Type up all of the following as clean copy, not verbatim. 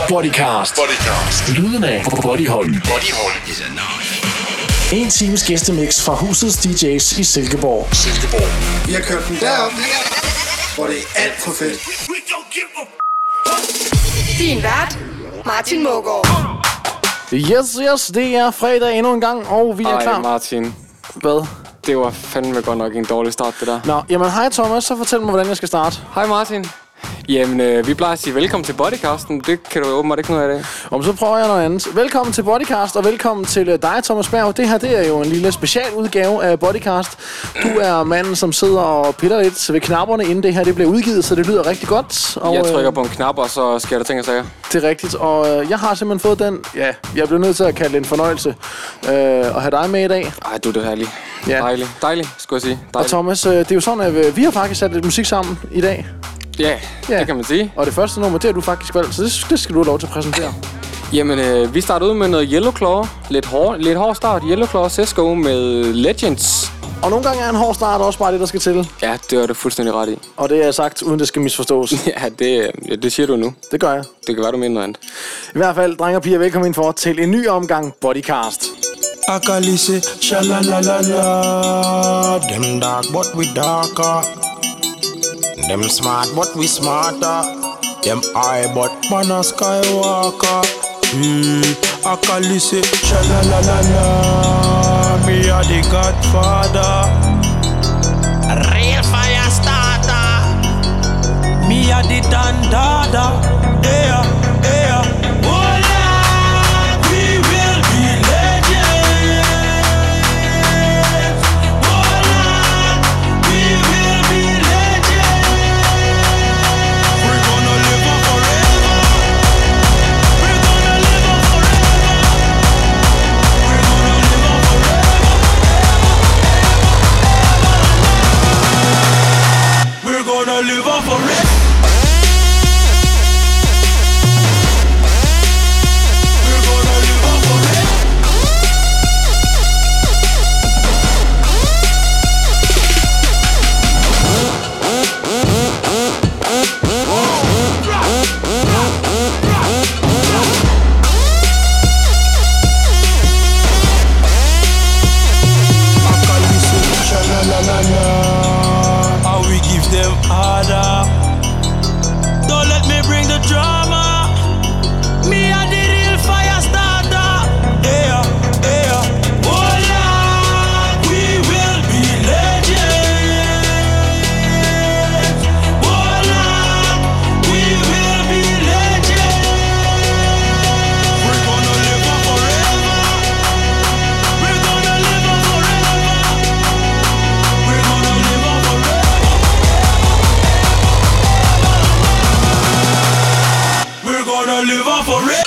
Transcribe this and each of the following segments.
Bodycast. Lyden af Bodyhold. En times gæstemix fra husets DJ's i Silkeborg. Vi har kørt den derop, hvor det er alt for fedt. Din vært, Martin Mågaard. Yes, det er fredag endnu en gang, og vi er klar. Ej, Martin. Hvad? Det var fandme godt nok en dårlig start, det der. Nå, jamen hej Thomas, så fortæl mig, hvordan jeg skal starte. Hej Martin. Jamen, vi plejer at sige velkommen til Bodycasten. Det kan du åbenbart ikke noget af i dag. Og så prøver jeg noget andet. Velkommen til Bodycast, og velkommen til dig, Thomas Berg. Det her, det er jo en lille specialudgave af Bodycast. Du er manden, som sidder og piller lidt ved knapperne, inden det her det bliver udgivet, så det lyder rigtig godt. Og, jeg trykker på en knap, og så sker der ting og sager. Det er rigtigt, og jeg har simpelthen fået den, jeg bliver nødt til at kalde det en fornøjelse at have dig med i dag. Ej, du er det herlig. Ja. Dejlig, skulle jeg sige. Og Thomas, det er jo sådan, at vi har faktisk sat lidt musik sammen i dag. Ja, det kan man sige. Og det første nummer, det har du faktisk valgt, så det skal du have lov til at præsentere. Jamen, vi starter ud med noget Yellow Claw. Lidt hård start. Yellow Claw Cisco med Legends. Og nogle gange er en hård start også bare det, der skal til. Ja, det er du fuldstændig ret i. Og det er sagt, uden det skal misforstås. Ja, det siger du nu. Det gør jeg. Det kan være, du mener noget andet. I hvert fald, drenge og piger, velkommen ind for til en ny omgang Bodycast. Akalise, shalalala. Them dark, but we darker. Them smart, but we smarter. Them high, but man a skywalker. Akalise, shalalala. Me a the Godfather. Real fire starter. Me a the Dandada. Yeah. Live on forever. We're gonna live on forever. I can listen, sha-la-la-la-la. How we give them harder. Don't let me bring the drama. Me a the real fire starter. Yeah. Oh Lord, we will be legends. Oh Lord, we will be legends. We're gonna live on forever. We're gonna live on forever. We're gonna live on forever. We're gonna live on forever.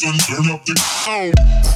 and turn up the sound.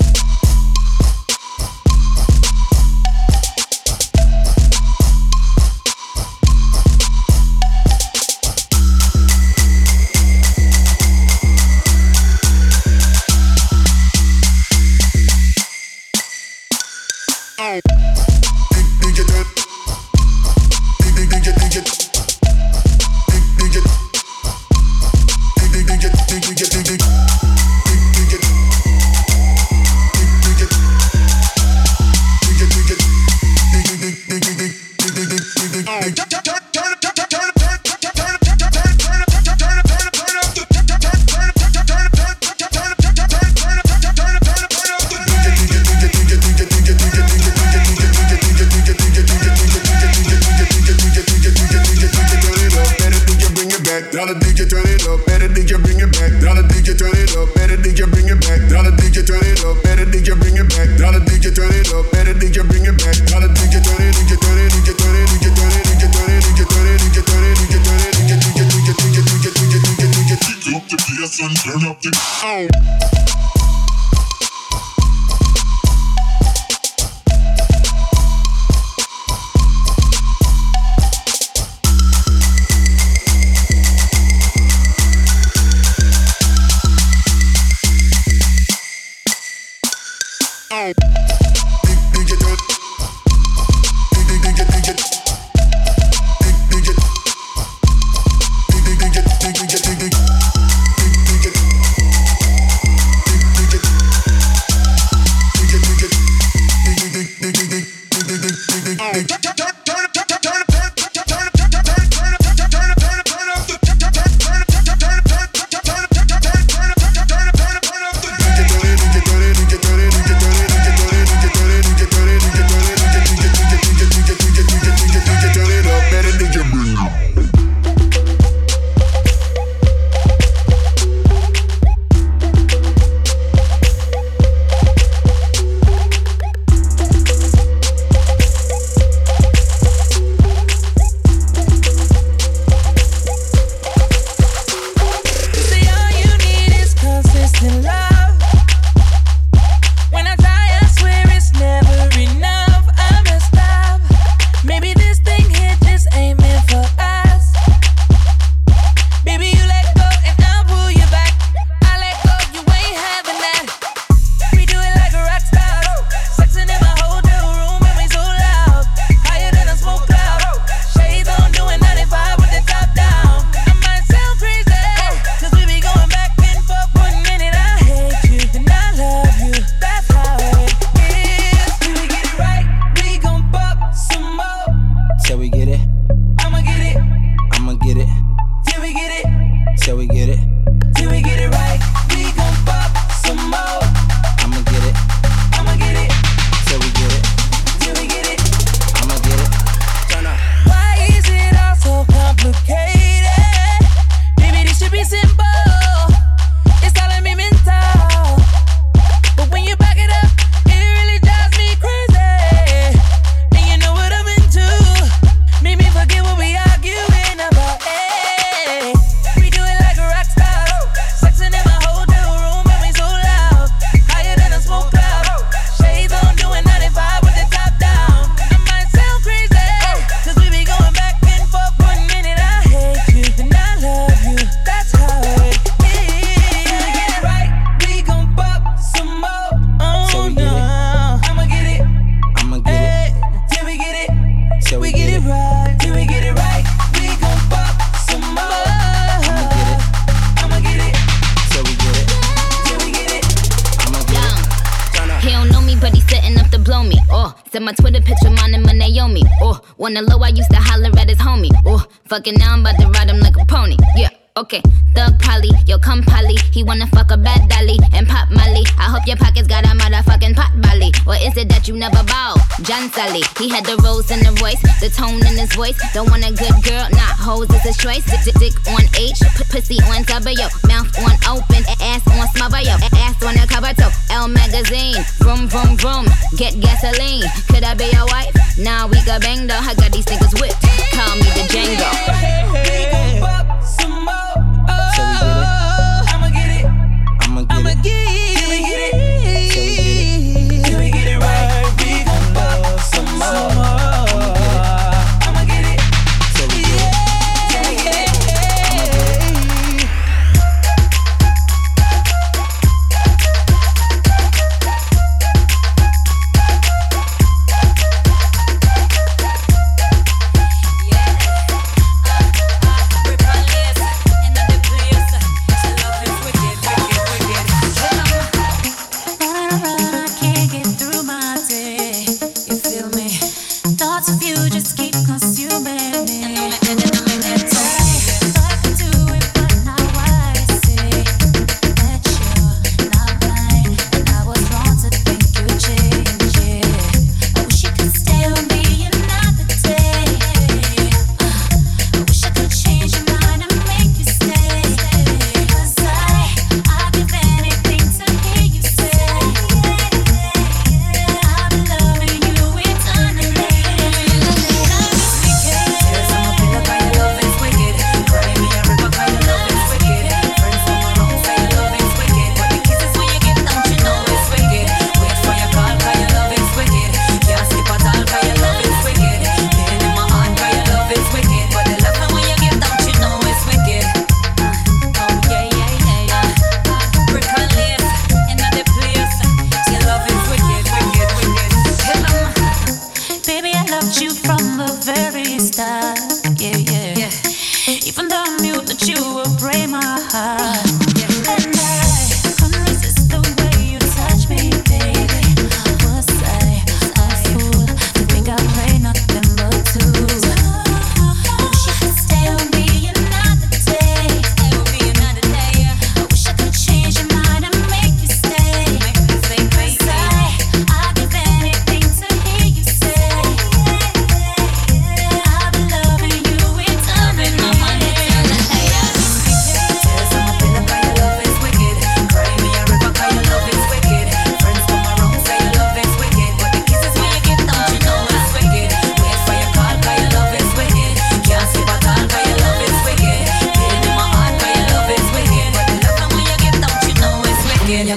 Said my Twitter picture, mine and my Naomi. Oh, wanna low, I used to holler at his homie. Oh, fucking now I'm about to ride him like a pony. Yeah, okay. Thug Polly, yo come Polly. He wanna fuck a bad dolly and pop Molly. I hope your pockets got a motherfucking pot belly. Or is it that you never bow? John Sally, he had the rose in the voice, the tone in his voice. Don't want a good girl, nah, hoes is his choice. Dick on H, pussy on W, mouth on open, ass on smother, yo, ass on the cover toe. L magazine, vroom vroom vroom, get gasoline. Could I be your wife? Nah, we got bang though. I got these niggas whipped. Call me the Django. We gon' pop some more. I'ma get it. I'ma get it.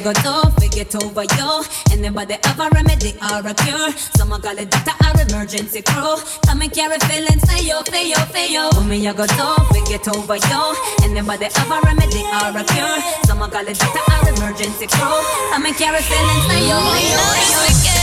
go do forget over you. Anybody have a remedy or a cure? Someone call it doctor or emergency crew. Come and carry feelings for you, for you, for you. Oh, me you go do forget over you. Anybody have a remedy or a cure? Someone call it doctor or emergency crew. Come and carry feelings for you, for you, for you.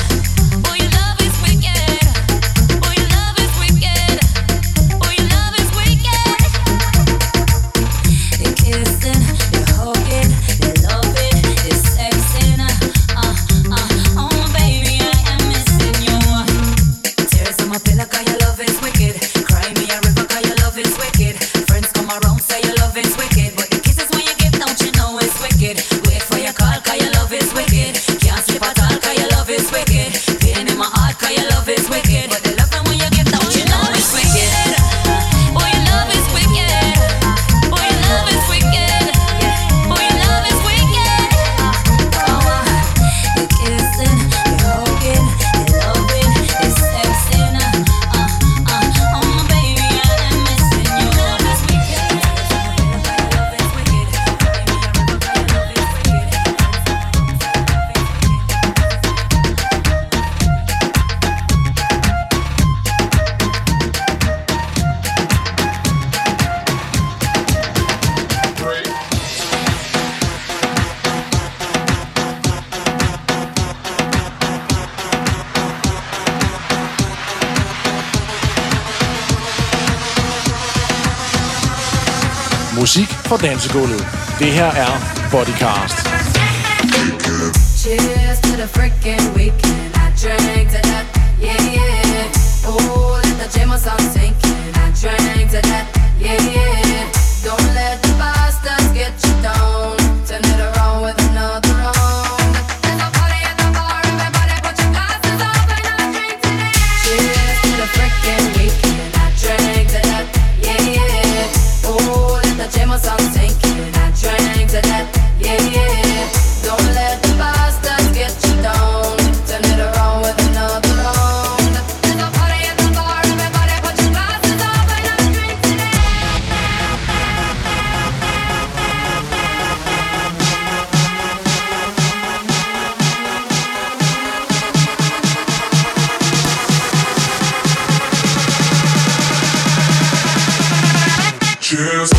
Musik fra dansegulvet. Det her er Bodycast. Cheers to the freaking weekend. I drank to that, yeah, yeah. Oh, let the J-Mo song sink in. I drank to that, yeah, yeah. Don't let the bastards get you down. Turn it around with another round. There's a party at the bar, everybody put your glasses up and I drink to that. Cheers to the freaking weekend. I drank to that, yeah, yeah. Oh, let the J-Mo song sink in. I drank to that, yeah, yeah. Don't let the bastards get you down. Turn it around with another round. There's a party at the bar, everybody put your glasses up and I drink to that. Cheers.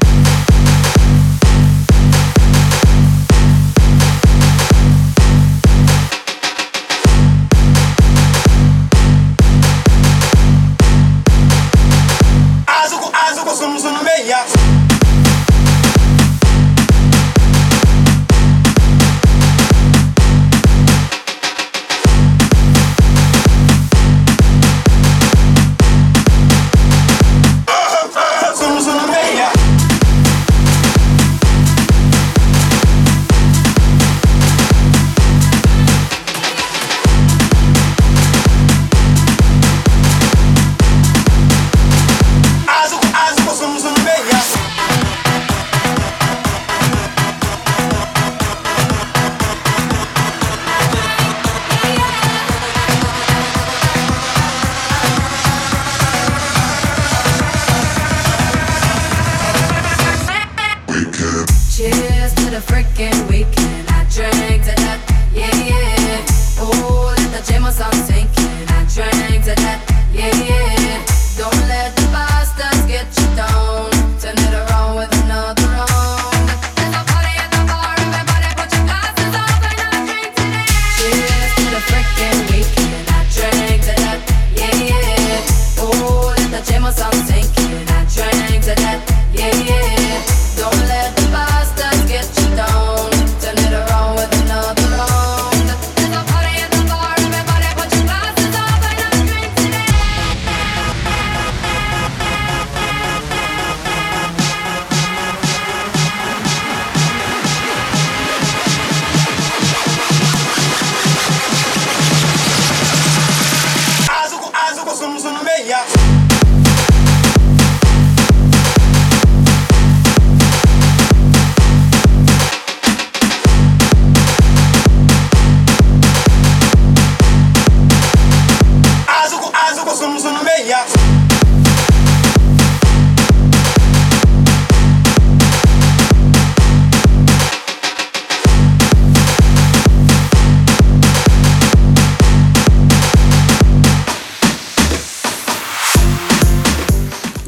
Cheers to the freaking weekend. I drank to that, yeah, yeah. Oh, let the J-Mo song sink in. I drank to that, yeah, yeah. Don't let the bastards get you down. Turn it around with another round. There's a party at the bar, everybody put your glasses up and I drink to that. Cheers to the freaking weekend. I drank to that, yeah, yeah. Oh, let the J-Mo song sink in. I drank to that, yeah, yeah. Don't let the bastards get you down.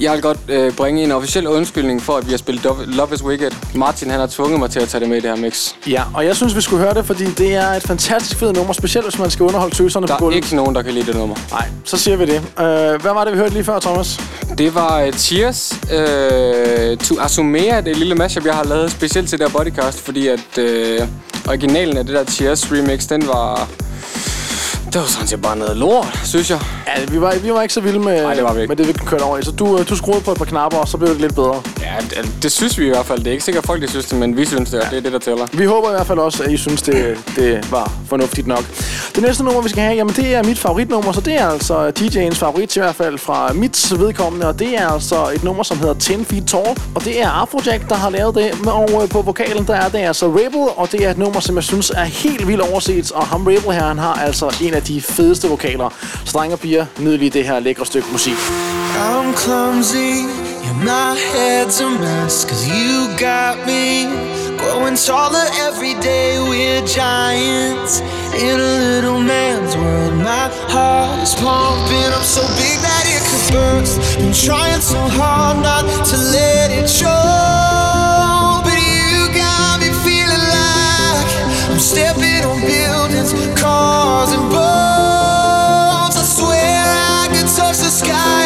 Jeg vil godt bringe en officiel undskyldning for, at vi har spillet Love is Wicked. Martin, han har tvunget mig til at tage det med i det her mix. Ja, og jeg synes, vi skulle høre det, fordi det er et fantastisk fedt nummer, specielt hvis man skal underholde tøserne på gulvet. Der er ikke nogen, der kan lide det nummer. Nej, så siger vi det. Hvad var det, vi hørte lige før, Thomas? Det var Cheers to Asumea, det lille mashup, jeg har lavet specielt til der Bodycast, fordi at originalen af det der Cheers remix, den var... Det var sådan set bare noget lort, synes jeg. Ja, vi var ikke så vilde med det, vi kørte over i. Så du skruede på et par knapper, og så blev det lidt bedre. Ja, det synes vi i hvert fald. Det er ikke sikkert folk, de synes det, men vi synes det, og det er det, der tæller. Vi håber i hvert fald også, at I synes, det var fornuftigt nok. Det næste nummer, vi skal have, jamen det er mit favoritnummer, så det er altså DJ'ens favorit, i hvert fald fra mit vedkommende, og det er altså et nummer, som hedder 10 Feet Tall, og det er Afrojack, der har lavet det, og på vokalen, der er det altså Rebel, og det er et nummer, som jeg synes er helt vildt overset, og ham Rebel her, han har altså en af de fedeste vokaler. Så drenge og piger, nyd lige det her lækre stykke musik. I'm clumsy, yeah, my head's a mess, 'cause you got me growing taller every day. We're giants in a little man's world. My heart is pumping up so big that it could burst. Been trying so hard not to let it show, but you got me feeling like I'm stepping on buildings, cars and boats. I swear I could touch the sky.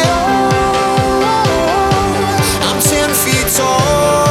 I'm 10 feet tall.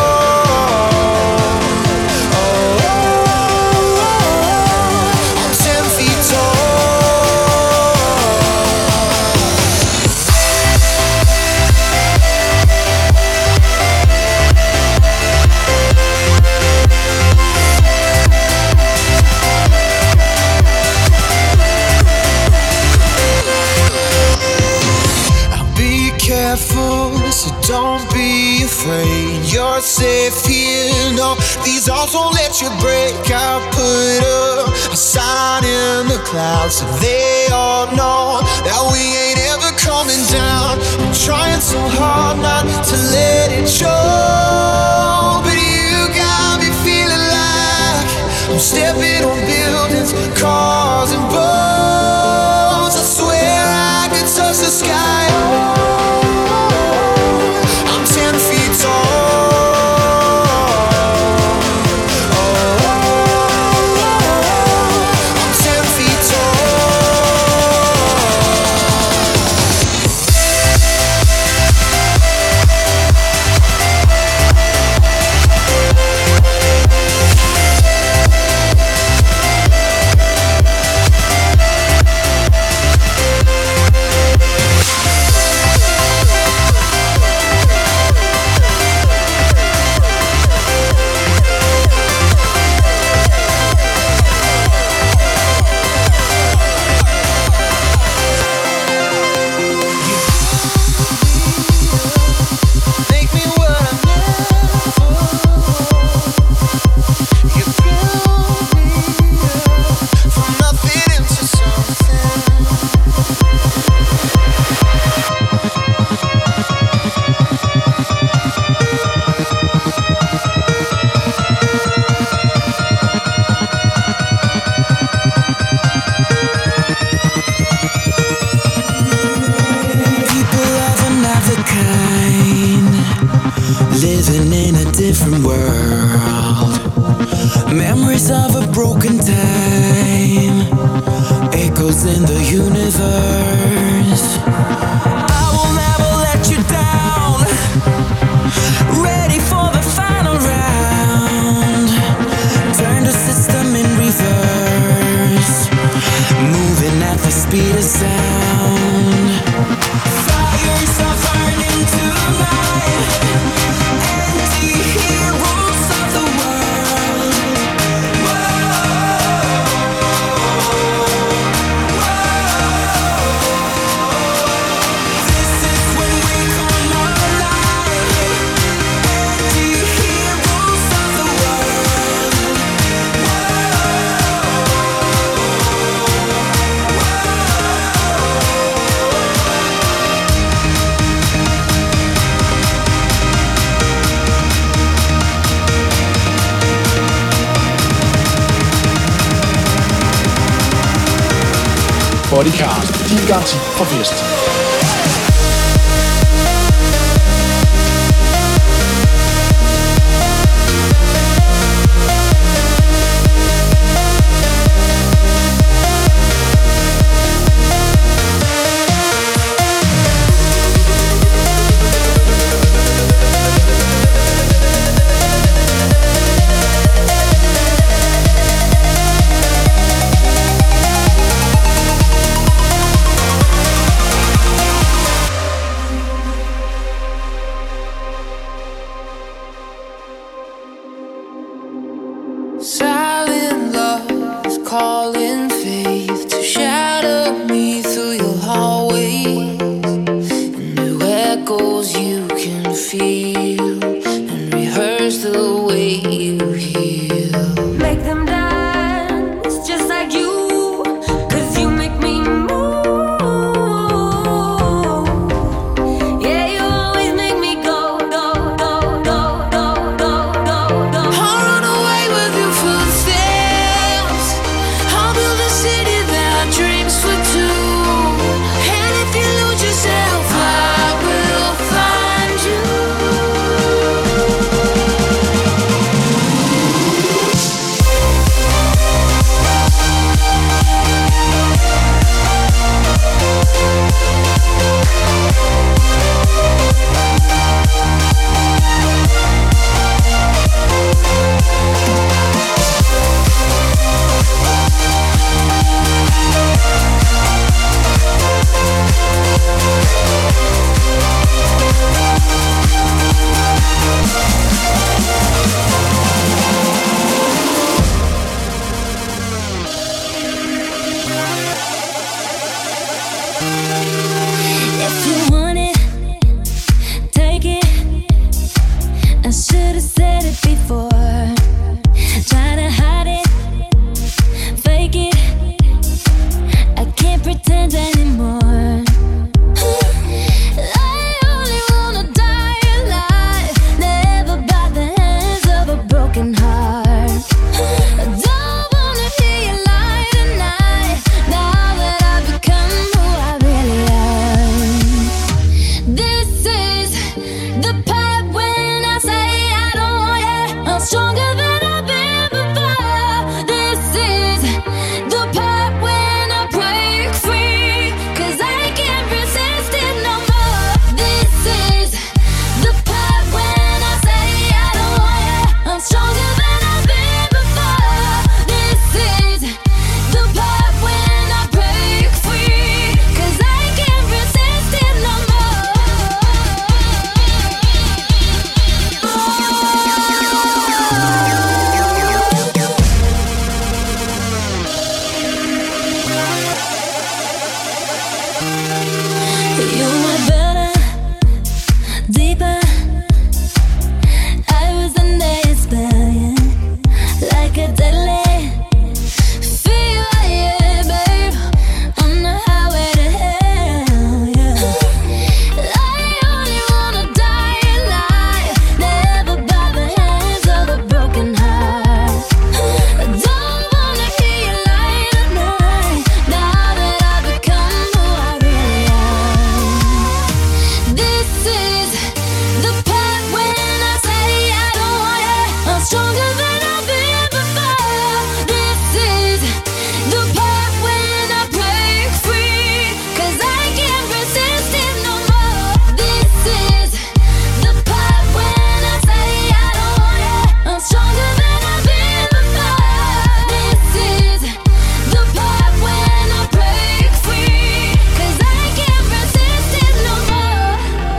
So don't be afraid, you're safe here. No, these walls won't let you break. I put up a sign in the clouds so they all know that we ain't ever coming down. I'm trying so hard not to let it show, but you got me feeling like I'm stepping on buildings, cars and boats. I swear I could touch the sky. Living in a different world, memories of a broken time, echoes in the universe. I will never let you down, ready for the final round. Turn the system in reverse, moving at the speed of sound. Fires are burning tonight. Bodycast. Din garanti for fest. Silent love calling faith to shadow me through your hallways. And new echoes you can feel and rehearse the way you heal. Make them dance just like you, 'cause you make me move. Yeah, you always make me go, go, go, go, go, go, go, go. I'll run away with your footsteps. I'll build a city that dreams for two. And if you lose yourself, I will find you. If you want it, take it. I should've said it before. Try to hide it, fake it. I can't pretend anymore. I only wanna die alive, never by the hands of a broken heart. I don't wanna hear you lie tonight, now that I've become who I really am. This is the part when I say I don't want you. I'm stronger than I've been before. This is the part when I break free, 'cause I can't resist it no more. This is the part when I say I don't want you. I'm stronger than I've been before. This is the part when I break free, 'cause I can't resist it no more. You were better, deeper. I was under your spell, yeah. Like a deadly fever, yeah, babe. On the highway to hell, yeah. I only wanna die alive, never by the hands of a broken heart. I don't wanna hear you lie tonight, now that I've become who I really am. This is the part when I say I don't want you. I'm stronger than I've been before. This is the part when I break free, 'cause I can't resist it no more. This is the part when I say I don't want you. I'm stronger than I've been before. This is the part when I break free, 'cause I can't resist it no more.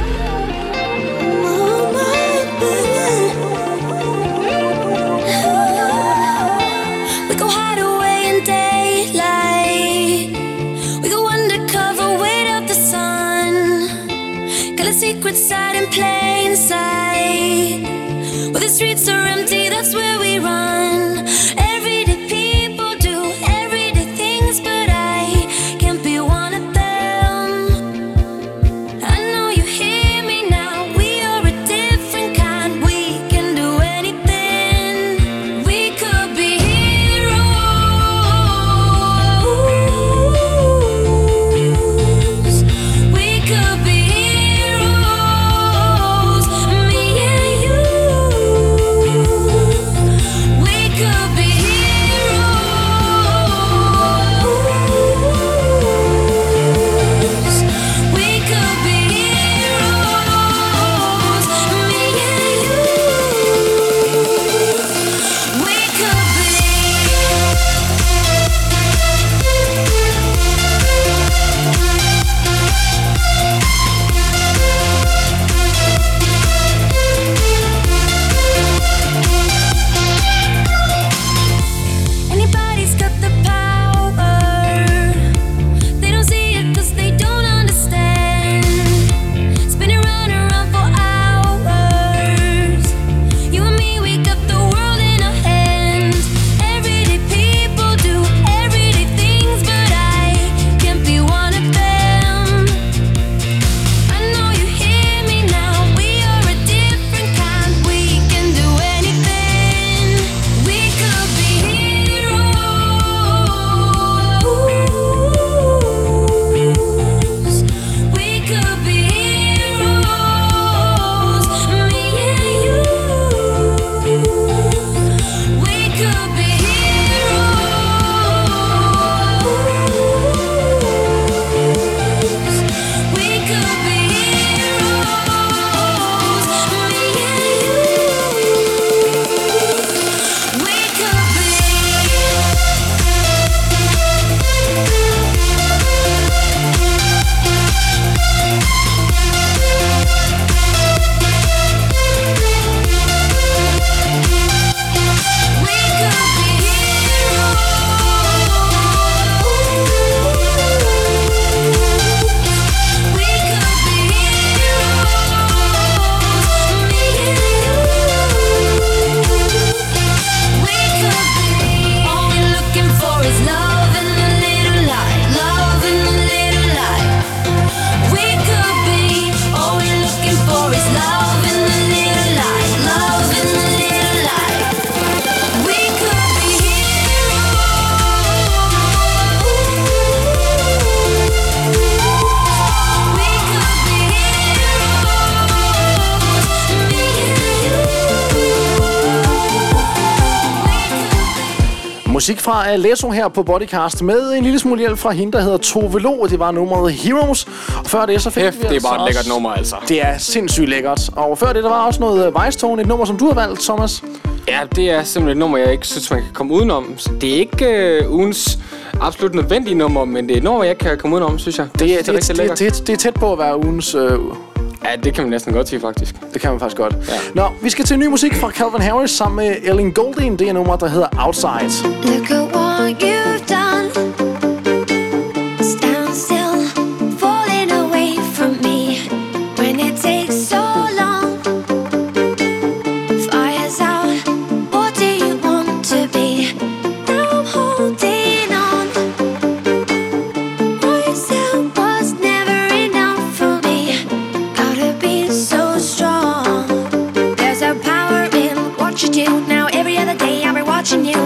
We go hide away in daylight. We go undercover, wait up the sun. Got a secret side in plain sight. Where the streets are empty, that's where we run. Everyday people do everyday things, but I can't be one of them. I know you hear me now, we are a different kind. We can do anything. We could be heroes. We could be heroes. Musik fra Alesso her på Bodycast med en lille smule hjælp fra hende, der hedder Tove Lo. Det var nummeret Heroes. Og før det, så fik vi det er bare et lækkert nummer, altså. Det er sindssygt lækkert. Og før det, der var også noget Vejstone, et nummer, som du har valgt, Thomas. Ja, det er simpelthen et nummer, jeg ikke synes, man kan komme udenom. Det er ikke ugens absolut nødvendige nummer, men det er et nummer, jeg kan komme udenom, synes jeg. Det er tæt på at være ugens... Ja, det kan man næsten godt sige, faktisk. Det kan man faktisk godt. Ja. Nå, vi skal til ny musik fra Calvin Harris sammen med Ellen Golding. Det er nummer, der hedder Outside. Look at what you've done. Stand still, falling away from me. When it takes so long. Fire's out, what do you want to be? Now I'm holding on. Myself was never enough for me. Gotta be so strong. There's a power in what you do. Now every other day I'll be watching you.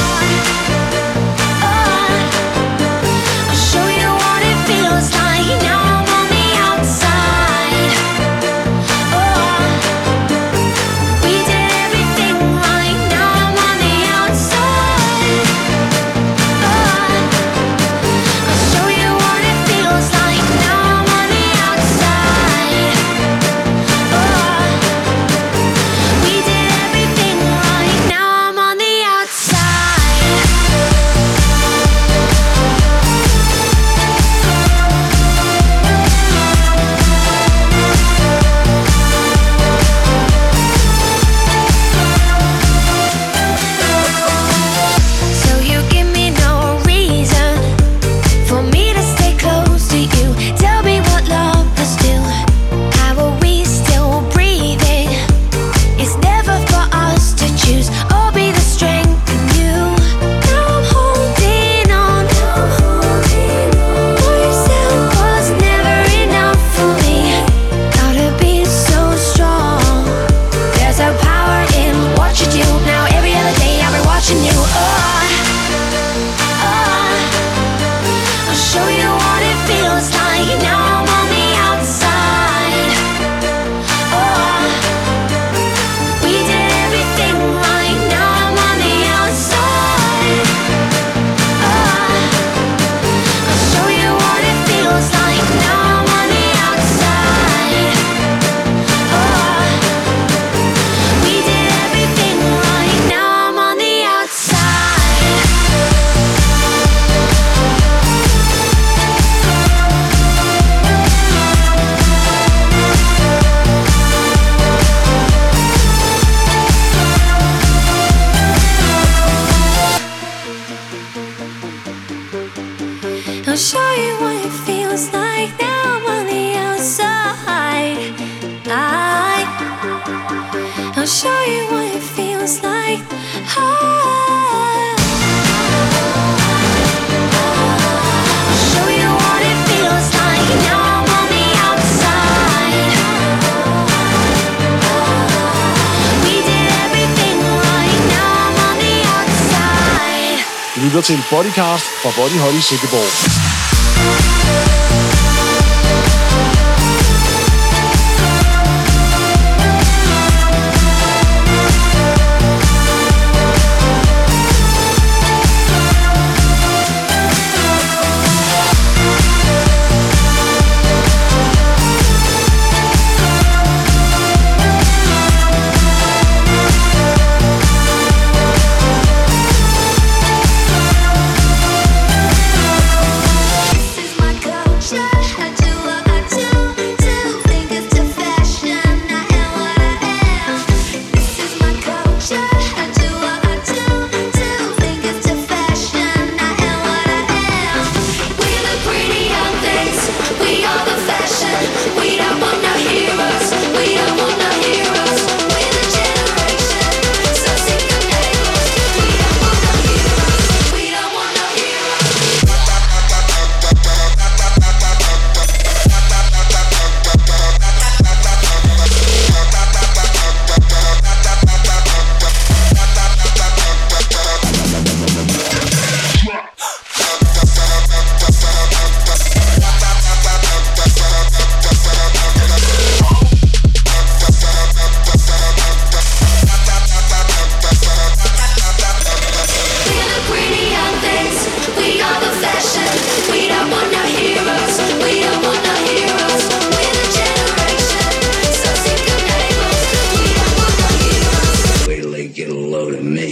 I'll show you what it feels like now I'm on the outside. I'll show you what it feels like. I'll show you what it feels like now I'm on the outside. We did everything right, now I'm on the outside. Lytter til Bodycast fra Bodyhold i Silkeborg. This is my couch.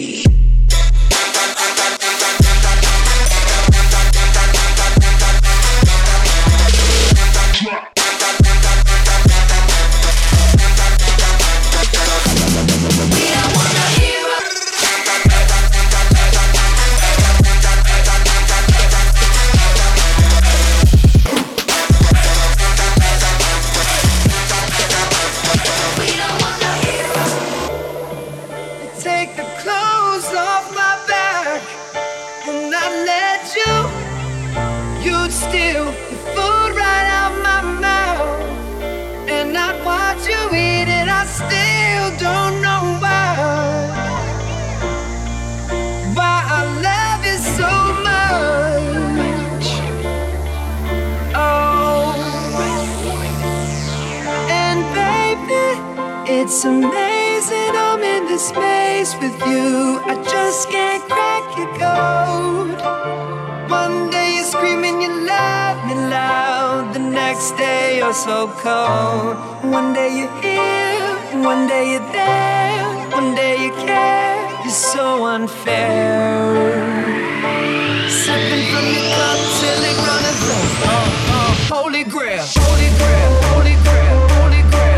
It's amazing I'm in this maze with you. I just can't crack your code. One day you're screaming you love me loud, the next day you're so cold. One day you're here, one day you're there, one day you care. You're so unfair. Sipping from your cup till it runneth over. Holy grail, holy grail, holy grail, holy grail.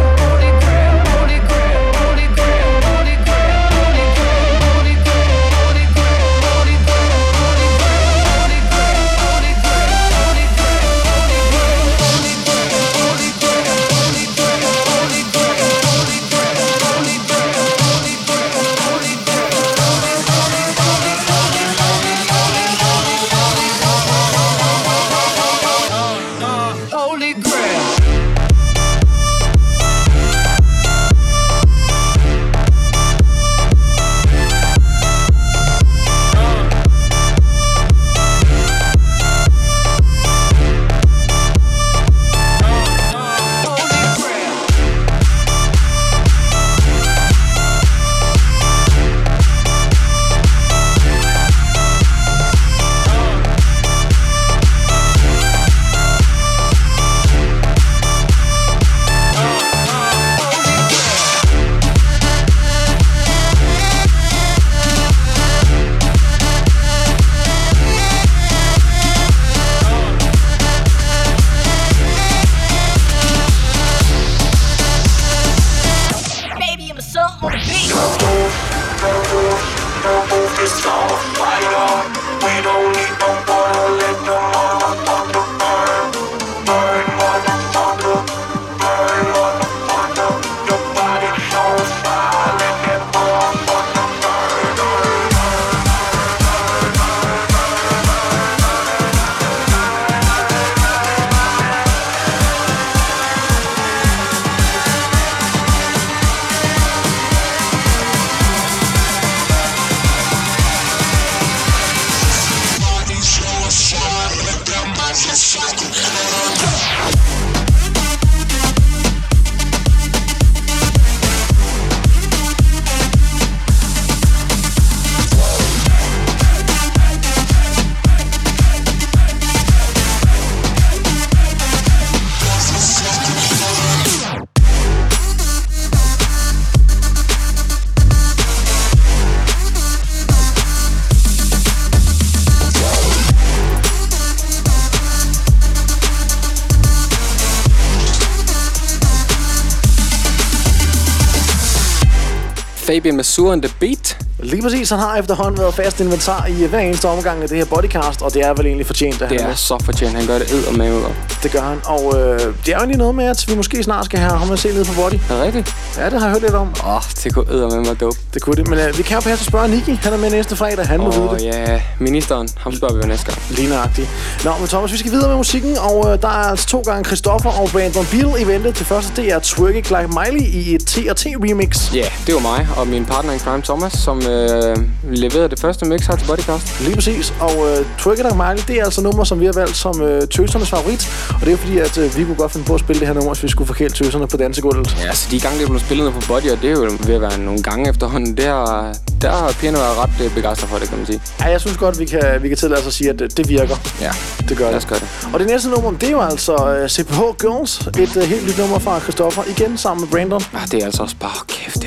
Fabian Masur and the Beat. Lige præcis, han har efterhånden været fast inventar i hver eneste omgang af det her Bodycast, og det er vel egentlig fortjent, at det han er så fortjent, han gør det eddermame godt. Det gør han, og det er jo egentlig noget med, at vi måske snart skal have ham at se ned på Body. Er det rigtigt? Ja, det har jeg hørt lidt om. Det kunne eddermame være dope. Det kunne det, men vi kan jo passe at spørge Nicky. Han er med næste fredag, han må vide det. Ja, ministeren, ham spørger vi jo næste gang. Lige nøjagtigt. Nå, men Thomas, vi skal videre med musikken, og der er altså 2 gange Christoffer og Brandon Beal i vente. Det første, det er Twerk It Like Miley i et T&T remix. Ja, det var mig og min partner in crime Thomas, som leverede det første mix her til Bodycast. Lige præcis, og Twerk It Like Miley, det er altså nummer, som vi har valgt som tøsernes favorit. Og det er fordi, at vi kunne godt finde på at spille det her nummer, hvis vi skulle forkæle tøserne på dansegulvet. Ja, så de gange, det blev spillet på Body, og det er jo ved at være nogle gange efterhånden, der har pigerne været ret begejstret for det, kan man sige. Ja, jeg synes godt, vi kan tillade os at sige, at det virker. Ja, det gør det. Lad os gøre det. Og det næste nummer, det er jo altså CPH Girls. Et helt nyt nummer fra Christoffer, igen sammen med Brandon. Ja, det er altså også bare, kæft, det er godt.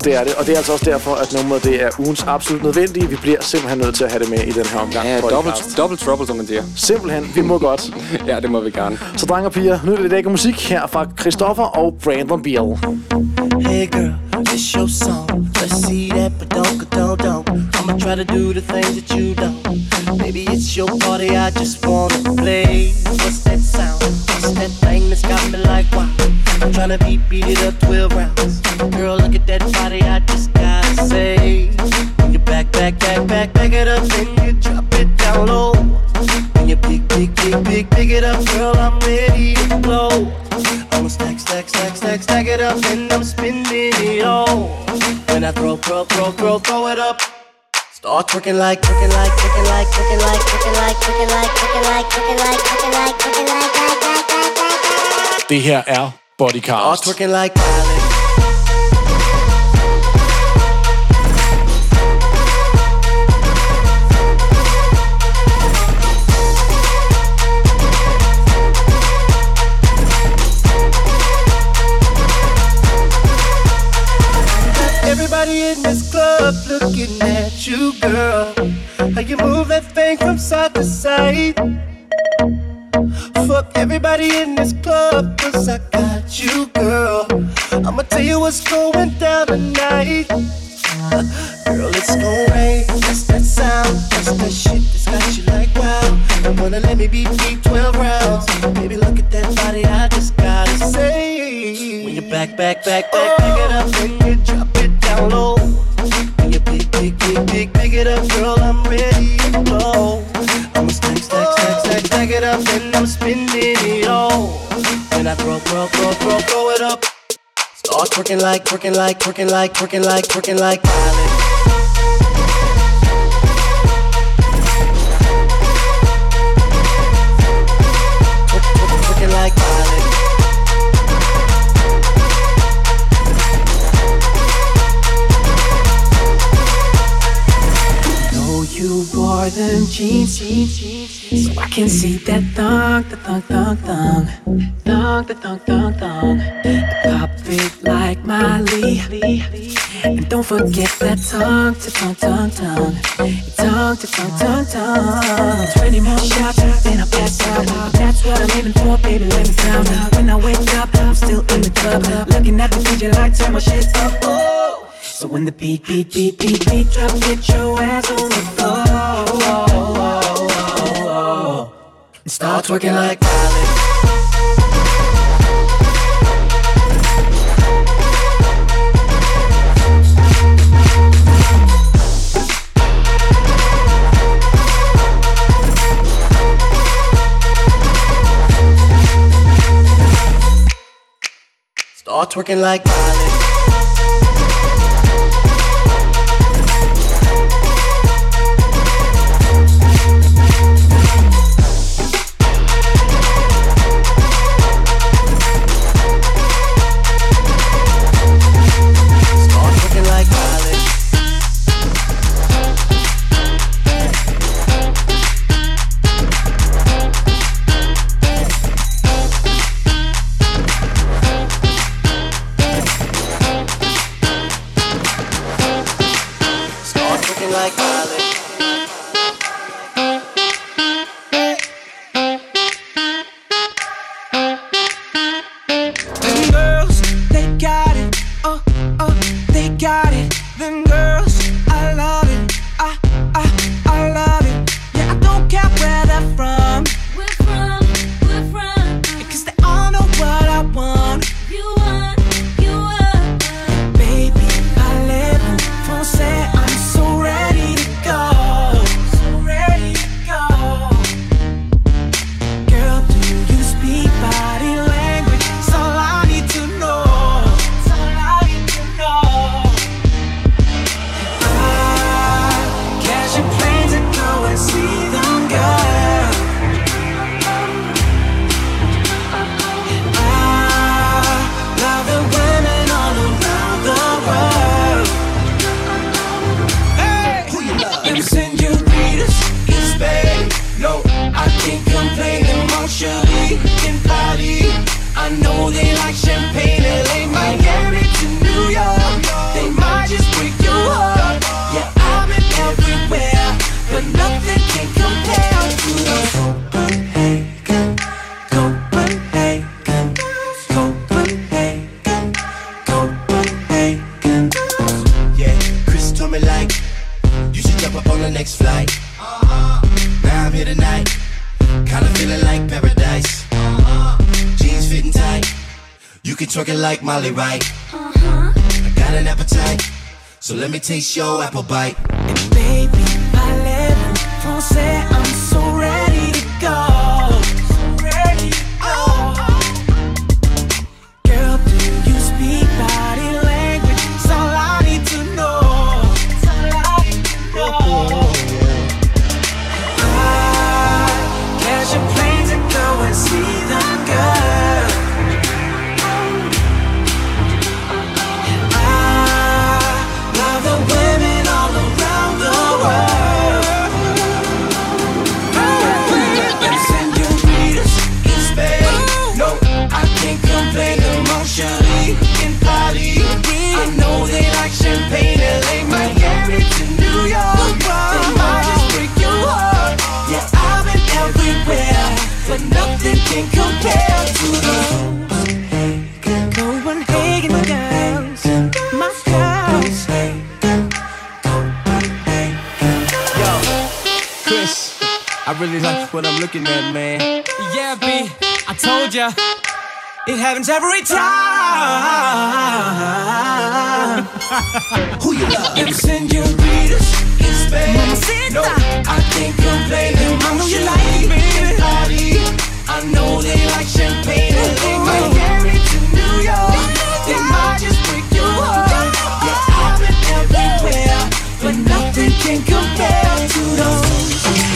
Det er det, og det er altså også derfor, at nummeret det er ugens absolut nødvendige. Vi bliver simpelthen nødt til at have det med i den her omgang. Ja, double trouble, som man siger. Simpelthen, vi må godt. Ja, det må vi gerne. Så drenge og piger, nu er det lækker musik her fra Christoffer og Brandon Beal. Hey girl, it's your song. Let's see that, but don't. I'ma try to do the things that you don't. Maybe it's your party, I just wanna play. What's that sound? What's that thing that's got me like wow? I'm tryna beat it up 12 rounds. Girl, look at that body, I just gotta say. When you back it up, then you drop it down low. When you pick it up, girl, I'm ready to blow. I'ma stack it up, and I'm spinning it all. When I throw it up. Start twerking like. Det her er Bodycast. Start twerking like Miley. Everybody in this club looking at you, girl. How you move that thing from side to side. Fuck everybody in this club, 'cause I got you, girl. I'ma tell you what's going down tonight. Girl, it's gon' rain, that's that sound. That's that shit that's got you like wow. You wanna let me beat 12 rounds. Baby, look at that body, I just gotta say. When you back it up, then you drop it down low. When you pick it up, girl, I'm ready to blow. I'ma stack it up, and I'm spinning it all. When I throw it up. Start twerking like Miley. Twerking like Miley. Know you wore them jeans, so I can see that thong. Pop it like Miley. And don't forget that tongue to tongue. 20 more shots, then I pass out. That's what I'm aiming for, baby, let me down. When I wake up, I'm still in the club. Looking at the DJ like turn my shit up. Oh. So when the beat drop, get your ass on the floor. And start twerking like Miley. Start twerking like Miley. Baby, I live for say I'm so ready to go. jump up on the next flight. Now I'm here tonight, kinda feeling like paradise. Jeans fitting tight, you can twerk it like Molly, right? I got an appetite, so let me taste your apple bite. And baby, parlez-vous français, I'm so ready to go. Girl, do you speak body language? It's all I need to know. It's all I need to know. Catch a plane to go and see the girl. I love the women all around the world. Senoritas in Spain, no, I can't complain emotionally in Paris. I know they like champagne, LA, Miami to New York. They might just break your heart. Yeah, I've been everywhere, but nothing can compare to those Copenhagen girls, my girls. Yo, Chris, I really like what I'm looking at, man. Yeah, B, I told ya, it happens every time. Who you love? Them senoritas in Spain, No, I can't complain I know you like emotionally me, in Paris. I know they like champagne, LA, Miami to New York. They might just break your heart. Yeah, I've been everywhere, but nothing can compare to those.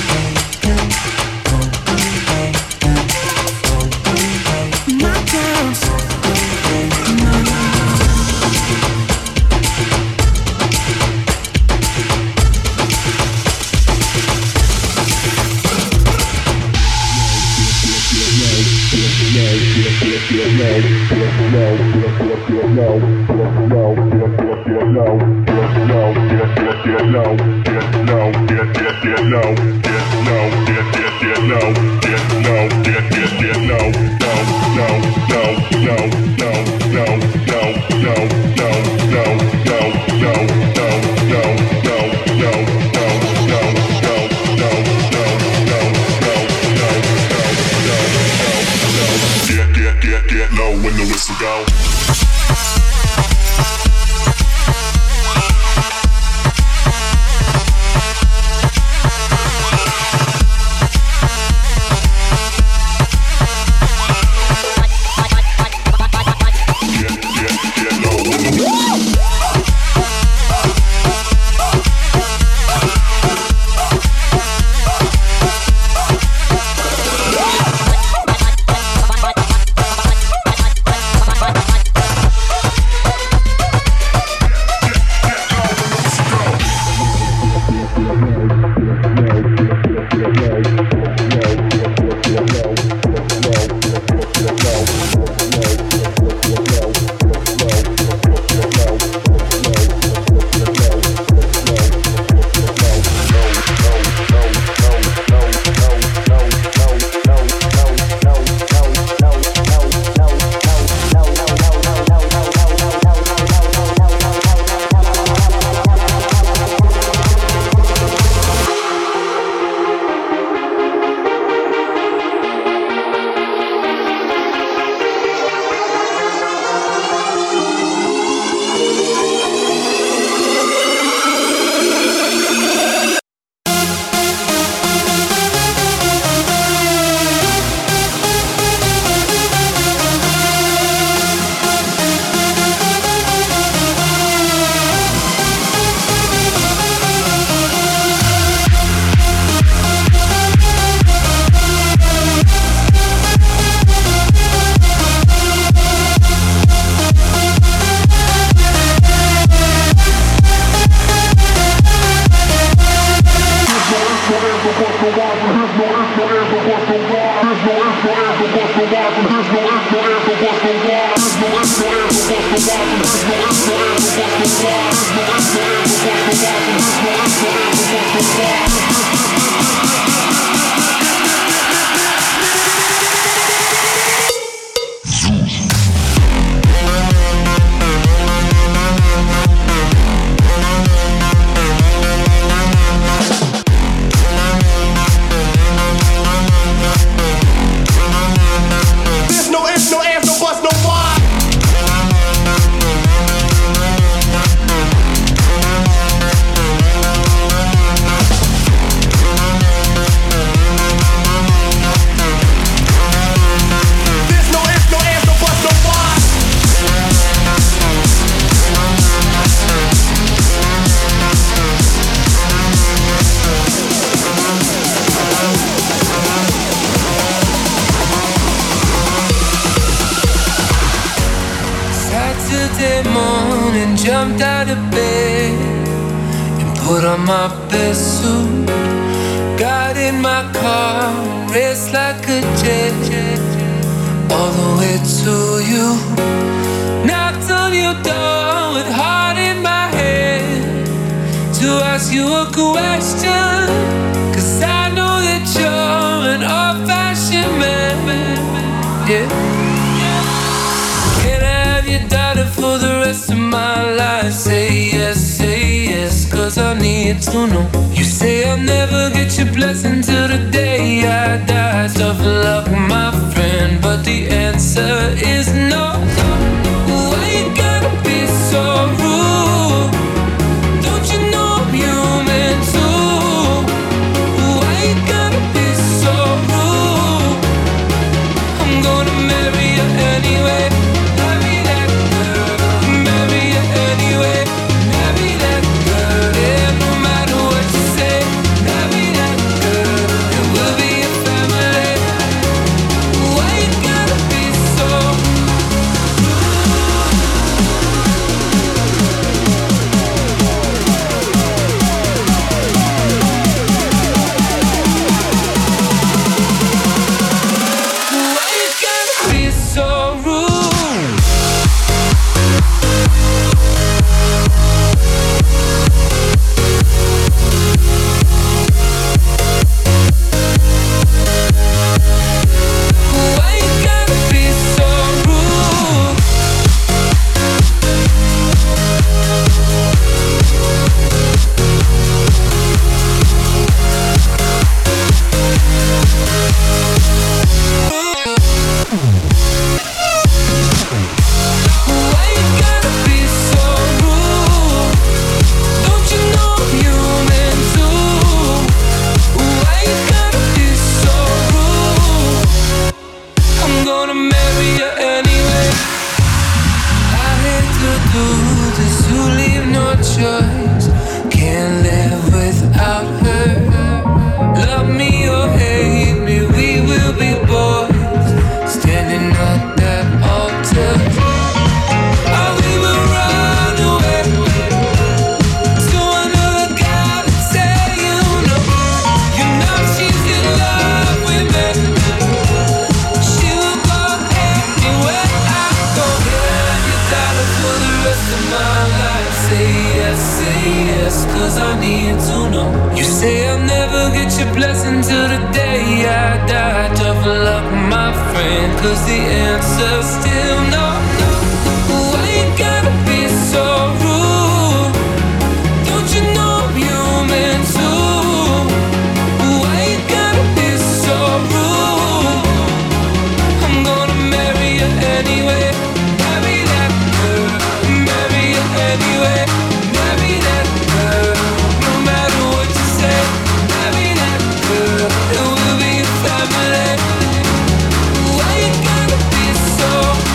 my girls. Get low when the whistle go. to bed and put on my best suit. Got in my car, raced like a jet, all the way to you. Knocked on your door with heart in my head to ask you a question, 'cause I know that you're an old-fashioned man, yeah. Can I have your daughter for the rest of my life? Say yes, 'cause I need to know. You say I'll never get your blessing till the day I die. Tough luck, my friend, but the answer is no. Why you gotta be so rude? Don't you know I'm human too? Why you gotta be so rude? I'm gonna marry you anyway. Marry that girl. Marry you anyway. Marry that girl. Yeah, no matter what you say. Marry that girl. And we'll be a family. Why you gotta be so so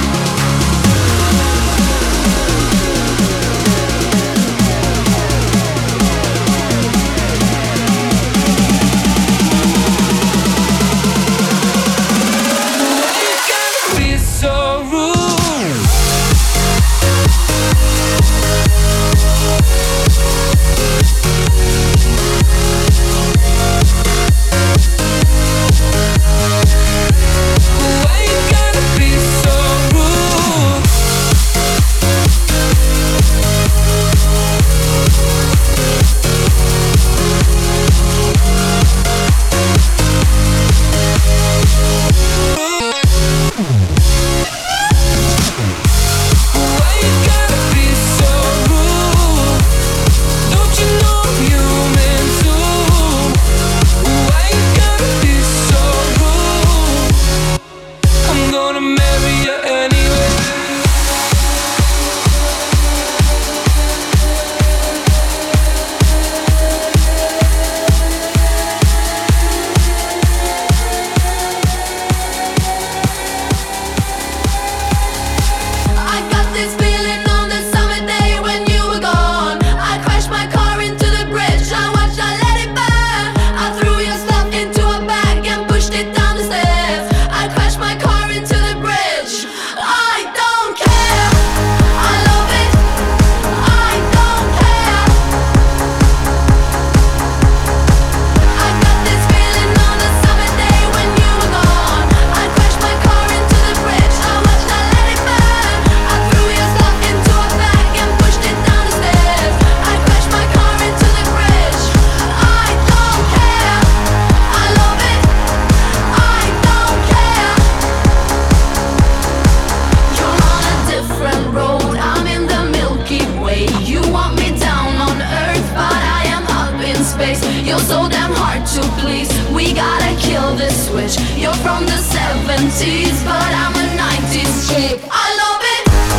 space. You're so damn hard to please. We gotta kill this switch. You're from the 70s, but I'm a 90s chick. I love it.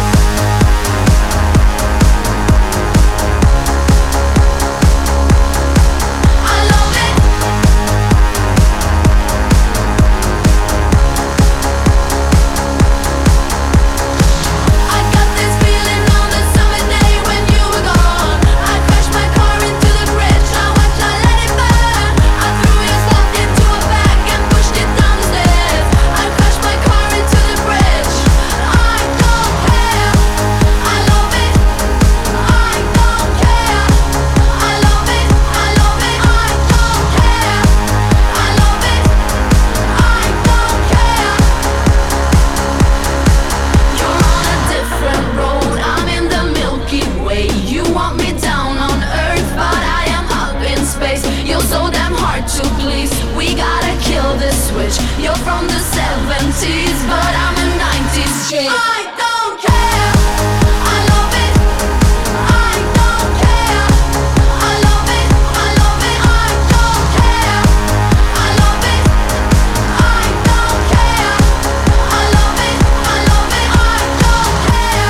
You're from the 70s, but I'm a 90s chick. I don't care. I love it. I don't care. I love it. I love it. I don't care. I love it. I don't care. I love it. I love it. I don't care.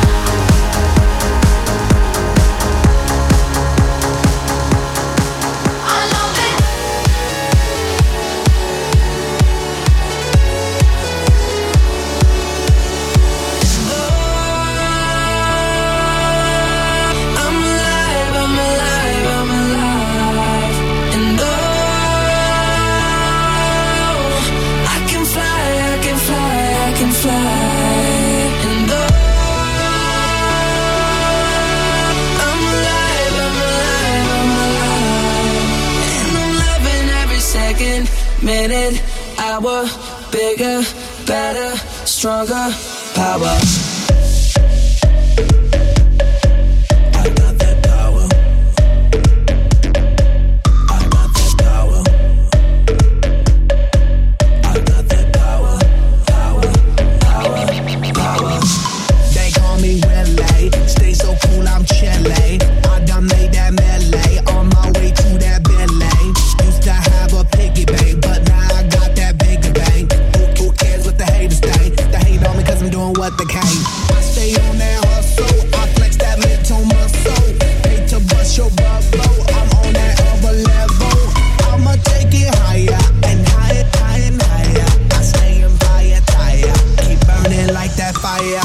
I love it. Minute, hour, bigger, better, stronger, power. I got that power. I got that power. I got that power. Power, power, power. They call me Willie. Stay so cool, I'm chilly. I done made that melee on my way to that Billy. Used to have a piggy bank, but now I got that bigger bank. Who cares what the haters think? They hate on me cause I'm doing what they can. I stay on that hustle, I flex that mid-tone muscle. Hate to bust your bubble, I'm on that other level. I'ma take it higher and higher, higher and higher. I stay in fire, tire, keep burning like that fire.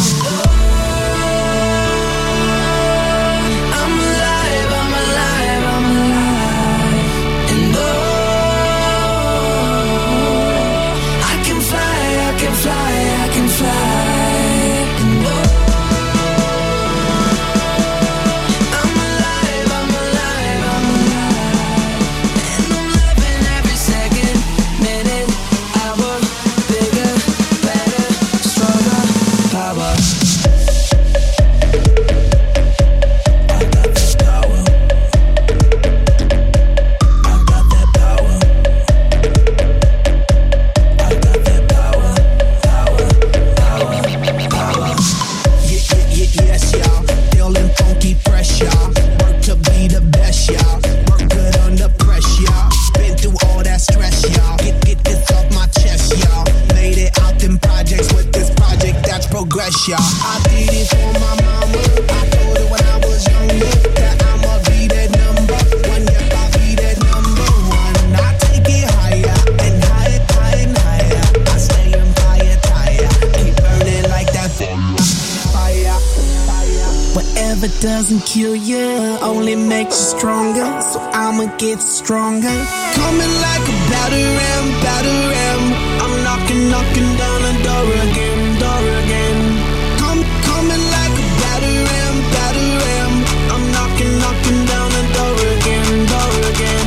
Doesn't kill you, only makes you stronger. So I'ma get stronger. Coming like a batter ram. I'm knocking down the door again, door again. Coming like a batter ram. I'm knocking down the door again, door again.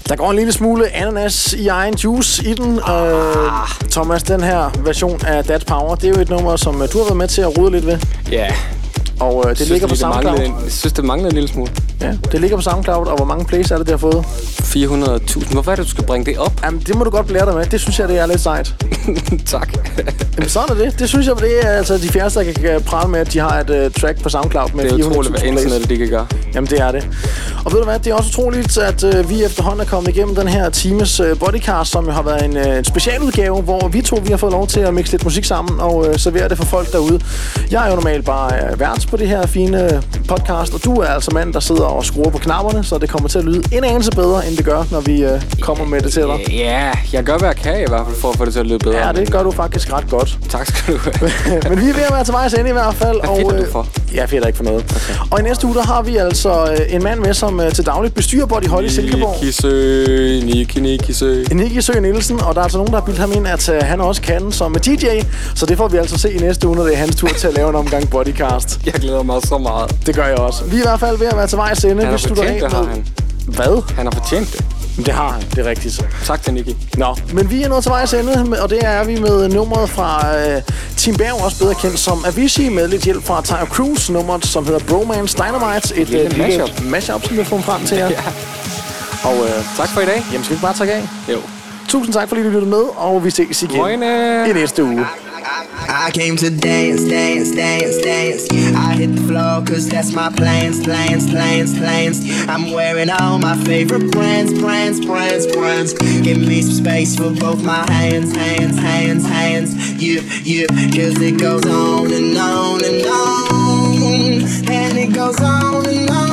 Der går en lille smule ananas i egen juice i den. Thomas, den her version af That's Power, det er jo et nummer, som du har været med til at rode lidt ved. Ja. Og det ligger på SoundCloud. Jeg synes, det mangler en lille smule. Ja, det ligger på SoundCloud, og hvor mange plays er det, der har fået? 400.000. Hvorfor er det, du skal bringe det op? Jamen, det må du godt blære dig med. Det synes jeg, det er lidt sejt. Tak. Jamen, sådan er det. Det synes jeg, det er altså de færreste, der kan prale med, at de har et track på SoundCloud med 400.000 plays. Det er utroligt, hvad internet det kan gøre. Jamen, det er det. Og ved du hvad, det er også utroligt, at vi efterhånden er kommet igennem den her times Bodycast, som jo har været en specialudgave, hvor vi har fået lov til at mixe lidt musik sammen og servere det for folk derude. Jeg er jo normalt bare vært på det her fine podcast, og du er altså mand, der sidder og skruer på knapperne, så det kommer til at lyde en anelse bedre, end det gør, når vi kommer med det til dig. Ja, jeg gør, hvad jeg kan i hvert fald, for at få det til at lyde bedre. Ja, det gør du faktisk ret godt. Tak skal du have. Men vi er ved at være til vejs ende i hvert fald. Hvad fedter du for? Jeg fedter ikke for noget. Okay. Og i næste uge, der har vi altså en mand med, som til dagligt bestyrer Body Hot i Silkeborg. Nicky Sø Nielsen, og der er altså nogen, der har bildt ham ind, at han også kan som DJ. Så det får vi altså se i næste uge, når det er hans tur til at lave en omgang Bodycast. Jeg glæder mig så meget. Det gør jeg også. Vi er i hvert fald ved at være til vejs ende. Han har fortjent det, har han. Hvad? Han har fortjent det. Det har han, det er rigtigt. Tak til Nicky. Nå, men vi er nået til vejs ende, og det er vi med nummeret fra Tim Berg, også bedre kendt som Avicii, med lidt hjælp fra Tyre Cruise, nummeret som hedder Bromance Dynamite. Et lille mashup, som vi får frem til jer. Ja. Og tak for i dag. Jamen, skal vi bare tage af? Jo. Tusind tak, fordi du lyttede med, og vi ses igen i næste uge. I came to dance, dance, dance, dance. I hit the floor cause that's my plans. I'm wearing all my favorite brands. Give me some space for both my hands. Yeah, cause it goes on and on and on. And it goes on and on.